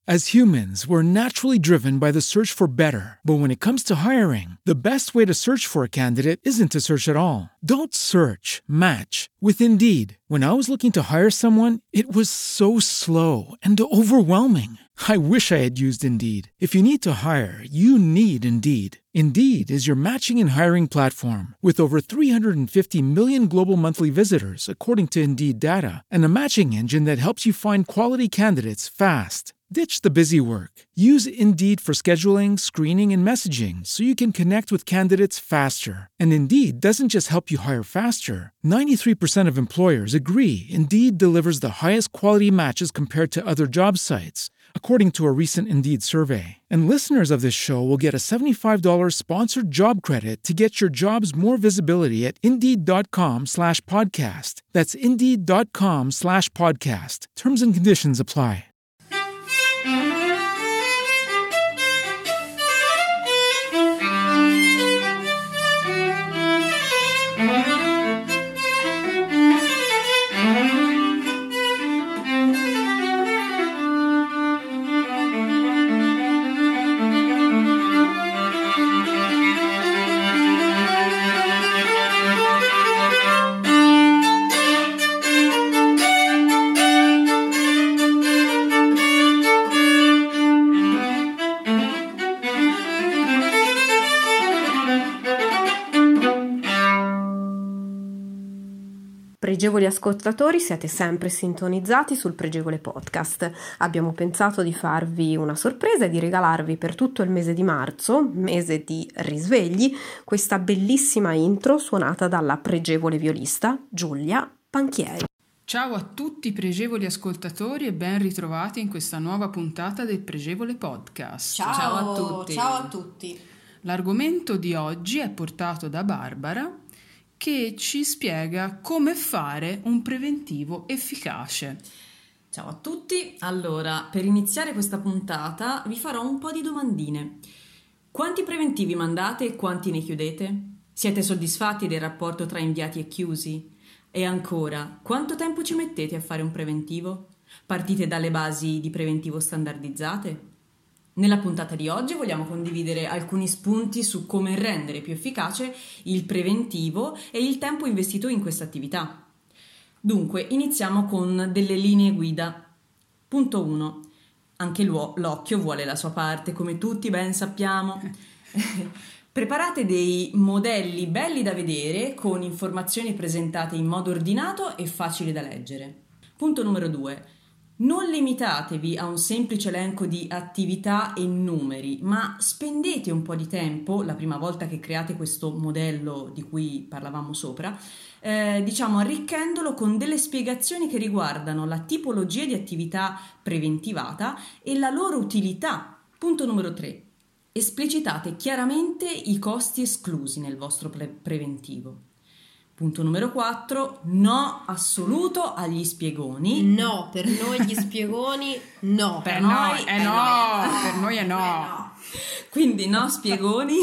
As humans, we're naturally driven by the search for better. But when it comes to hiring, the best way to search for a candidate isn't to search at all. Don't search, match with Indeed. When I was looking to hire someone, it was so slow and overwhelming. I wish I had used Indeed. If you need to hire, you need Indeed. Indeed is your matching and hiring platform with over 350 million global monthly visitors, according to Indeed data, and a matching engine that helps you find quality candidates fast. Ditch the busy work. Use Indeed for scheduling, screening, and messaging so you can connect with candidates faster. And Indeed doesn't just help you hire faster. 93% of employers agree Indeed delivers the highest quality matches compared to other job sites, according to a recent Indeed survey. And listeners of this show will get a $75 sponsored job credit to get your jobs more visibility at Indeed.com/podcast. That's Indeed.com/podcast. Terms and conditions apply. Pregevoli ascoltatori, siete sempre sintonizzati sul Pregevole Podcast. Abbiamo pensato di farvi una sorpresa e di regalarvi per tutto il mese di marzo, mese di risvegli, questa bellissima intro suonata dalla pregevole violista Giulia Panchieri. Ciao a tutti pregevoli ascoltatori e ben ritrovati in questa nuova puntata del Pregevole Podcast. Ciao a tutti. Ciao a tutti. L'argomento di oggi è portato da Barbara, che ci spiega come fare un preventivo efficace. Ciao a tutti, allora per iniziare questa puntata vi farò un po' di domandine. Quanti preventivi mandate e quanti ne chiudete? Siete soddisfatti del rapporto tra inviati e chiusi? E ancora, quanto tempo ci mettete a fare un preventivo? Partite dalle basi di preventivo standardizzate? Nella puntata di oggi vogliamo condividere alcuni spunti su come rendere più efficace il preventivo e il tempo investito in questa attività. Dunque, iniziamo con delle linee guida. Punto 1. Anche l'occhio vuole la sua parte, come tutti ben sappiamo. Preparate dei modelli belli da vedere con informazioni presentate in modo ordinato e facile da leggere. Punto numero 2. Non limitatevi a un semplice elenco di attività e numeri, ma spendete un po' di tempo, la prima volta che create questo modello di cui parlavamo sopra, arricchendolo con delle spiegazioni che riguardano la tipologia di attività preventivata e la loro utilità. Punto numero 3. Esplicitate chiaramente i costi esclusi nel vostro preventivo. Punto numero 4, no assoluto agli spiegoni. No, per noi gli spiegoni no. Per noi è no. Per noi è no. Quindi no spiegoni,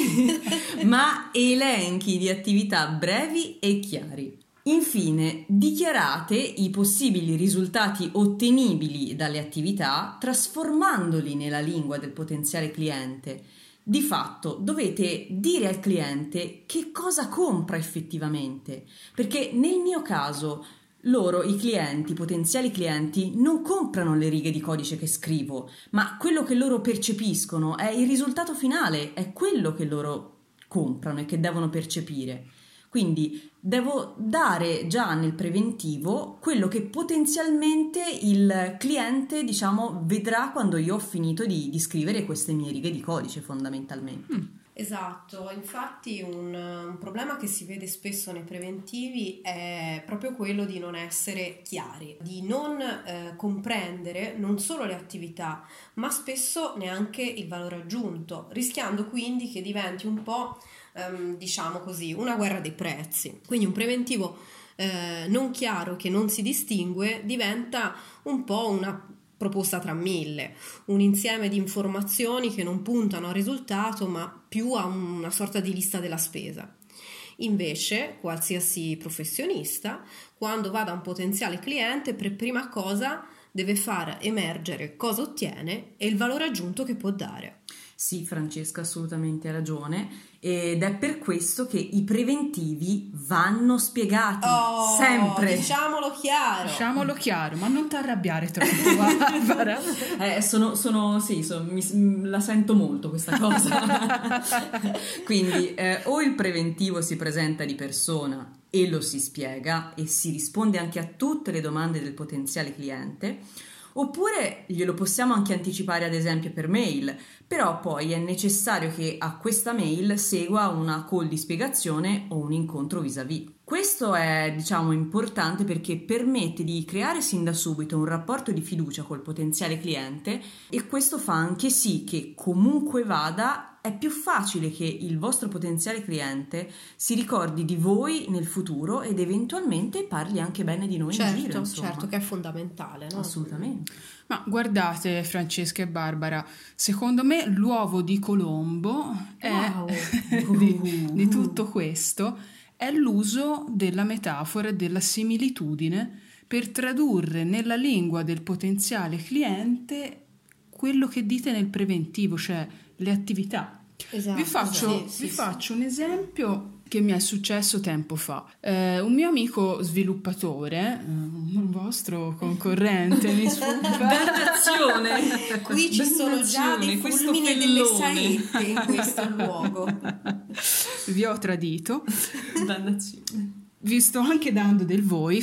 ma elenchi di attività brevi e chiari. Infine, dichiarate i possibili risultati ottenibili dalle attività trasformandoli nella lingua del potenziale cliente. Di fatto dovete dire al cliente che cosa compra effettivamente, perché nel mio caso i clienti, i potenziali clienti, non comprano le righe di codice che scrivo, ma quello che loro percepiscono è il risultato finale, è quello che loro comprano e che devono percepire. Quindi devo dare già nel preventivo quello che potenzialmente il cliente, vedrà quando io ho finito di scrivere queste mie righe di codice fondamentalmente. Esatto, infatti un problema che si vede spesso nei preventivi è proprio quello di non essere chiari, di non comprendere non solo le attività, ma spesso neanche il valore aggiunto, rischiando quindi che diventi un po' una guerra dei prezzi. Quindi un preventivo non chiaro, che non si distingue, diventa un po' una proposta tra mille, un insieme di informazioni che non puntano al risultato ma più a una sorta di lista della spesa. Invece qualsiasi professionista, quando va da un potenziale cliente, per prima cosa deve far emergere cosa ottiene e il valore aggiunto che può dare. Sì, Francesca, assolutamente hai ragione, ed è per questo che i preventivi vanno spiegati sempre. Diciamolo chiaro, ma non ti arrabbiare troppo, Barbara. La sento molto questa cosa. Quindi o il preventivo si presenta di persona e lo si spiega e si risponde anche a tutte le domande del potenziale cliente, oppure glielo possiamo anche anticipare ad esempio per mail, però poi è necessario che a questa mail segua una call di spiegazione o un incontro vis-à-vis. Questo è, importante perché permette di creare sin da subito un rapporto di fiducia col potenziale cliente, e questo fa anche sì che comunque vada è più facile che il vostro potenziale cliente si ricordi di voi nel futuro ed eventualmente parli anche bene di noi in giro, insomma. Certo, che è fondamentale, no? Assolutamente. Ma guardate, Francesca e Barbara, secondo me l'uovo di Colombo è di tutto questo è l'uso della metafora e della similitudine per tradurre nella lingua del potenziale cliente quello che dite nel preventivo, cioè le attività. Esatto, Vi faccio un esempio che mi è successo tempo fa. Un mio amico sviluppatore, un vostro concorrente, mi sfugga. Dannazione! Qui ci sono già dei fulmini e delle saette in questo luogo. Vi ho tradito. Dannazione. Vi sto anche dando del voi.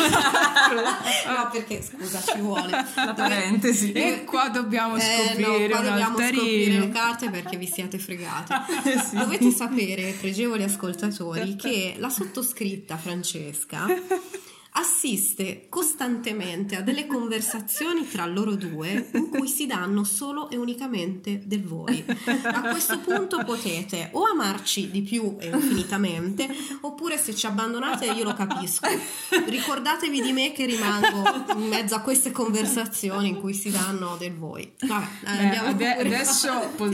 No, perché scusa, ci vuole la parentesi. E qua dobbiamo scoprire qua un dobbiamo scoprire altarino. le carte perché vi siate fregati. Dovete sapere, pregevoli ascoltatori, che la sottoscritta Francesca assiste costantemente a delle conversazioni tra loro due in cui si danno solo e unicamente del voi. A questo punto potete o amarci di più e infinitamente, oppure se ci abbandonate io lo capisco. Ricordatevi di me che rimango in mezzo a queste conversazioni in cui si danno del voi. Vabbè, Adesso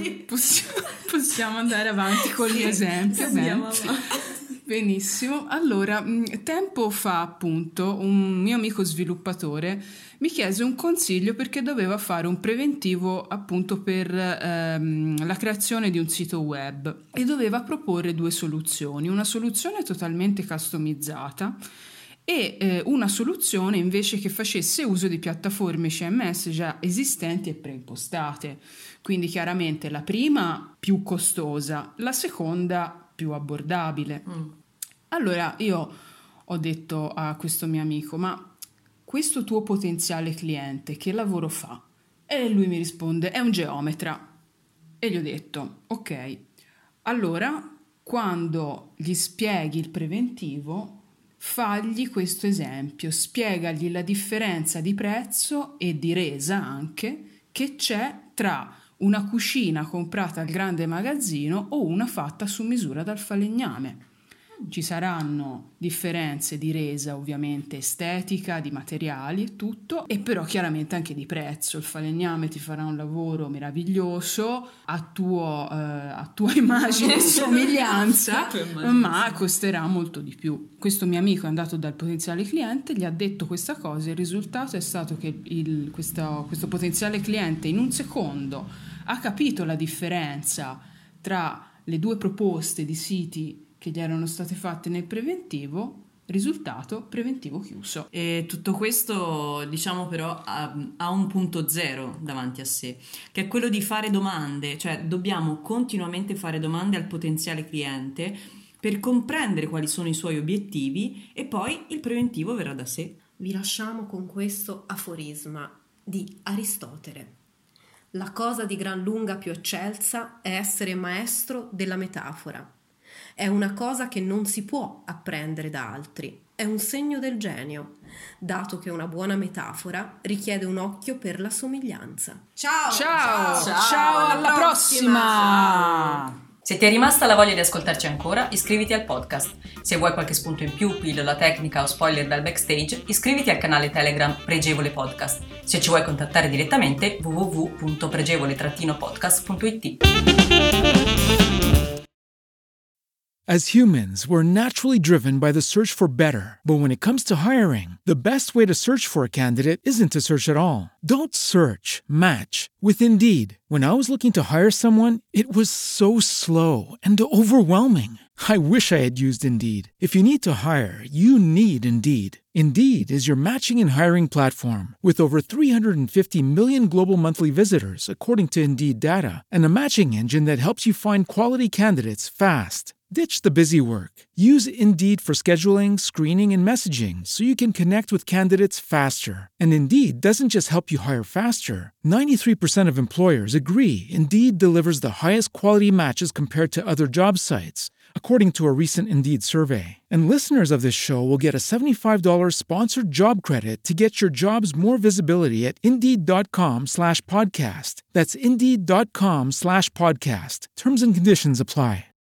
possiamo andare avanti con gli esempi. Andiamo avanti. Benissimo, allora tempo fa appunto un mio amico sviluppatore mi chiese un consiglio perché doveva fare un preventivo appunto per la creazione di un sito web e doveva proporre due soluzioni, una soluzione totalmente customizzata e una soluzione invece che facesse uso di piattaforme CMS già esistenti e preimpostate, quindi chiaramente la prima più costosa, la seconda più abbordabile. Allora io ho detto a questo mio amico: ma questo tuo potenziale cliente che lavoro fa? E lui mi risponde: è un geometra. E gli ho detto: ok, allora quando gli spieghi il preventivo fagli questo esempio, spiegagli la differenza di prezzo e di resa anche che c'è tra una cucina comprata al grande magazzino o una fatta su misura dal falegname. Ci saranno differenze di resa, ovviamente estetica, di materiali e tutto, e però chiaramente anche di prezzo. Il falegname ti farà un lavoro meraviglioso a tua immagine e somiglianza, ma costerà molto di più. Questo mio amico è andato dal potenziale cliente, gli ha detto questa cosa, e il risultato è stato che questo potenziale cliente in un secondo ha capito la differenza tra le due proposte di siti che gli erano state fatte nel preventivo. Risultato: preventivo chiuso. E tutto questo, diciamo, però ha un punto zero davanti a sé, che è quello di fare domande, cioè dobbiamo continuamente fare domande al potenziale cliente per comprendere quali sono i suoi obiettivi e poi il preventivo verrà da sé. Vi lasciamo con questo aforisma di Aristotele: la cosa di gran lunga più eccelsa è essere maestro della metafora. È una cosa che non si può apprendere da altri, è un segno del genio, dato che una buona metafora richiede un occhio per la somiglianza. Ciao, alla prossima! Se ti è rimasta la voglia di ascoltarci ancora, iscriviti al podcast. Se vuoi qualche spunto in più, pillola tecnica o spoiler dal backstage, iscriviti al canale Telegram Pregevole Podcast. Se ci vuoi contattare direttamente, www.pregevole-podcast.it. As humans, we're naturally driven by the search for better. But when it comes to hiring, the best way to search for a candidate isn't to search at all. Don't search, match with Indeed. When I was looking to hire someone, it was so slow and overwhelming. I wish I had used Indeed. If you need to hire, you need Indeed. Indeed is your matching and hiring platform with over 350 million global monthly visitors, according to Indeed data, and a matching engine that helps you find quality candidates fast. Ditch the busy work. Use Indeed for scheduling, screening, and messaging so you can connect with candidates faster. And Indeed doesn't just help you hire faster. 93% of employers agree Indeed delivers the highest quality matches compared to other job sites, according to a recent Indeed survey. And listeners of this show will get a $75 sponsored job credit to get your jobs more visibility at Indeed.com/podcast. That's Indeed.com/podcast. Terms and conditions apply.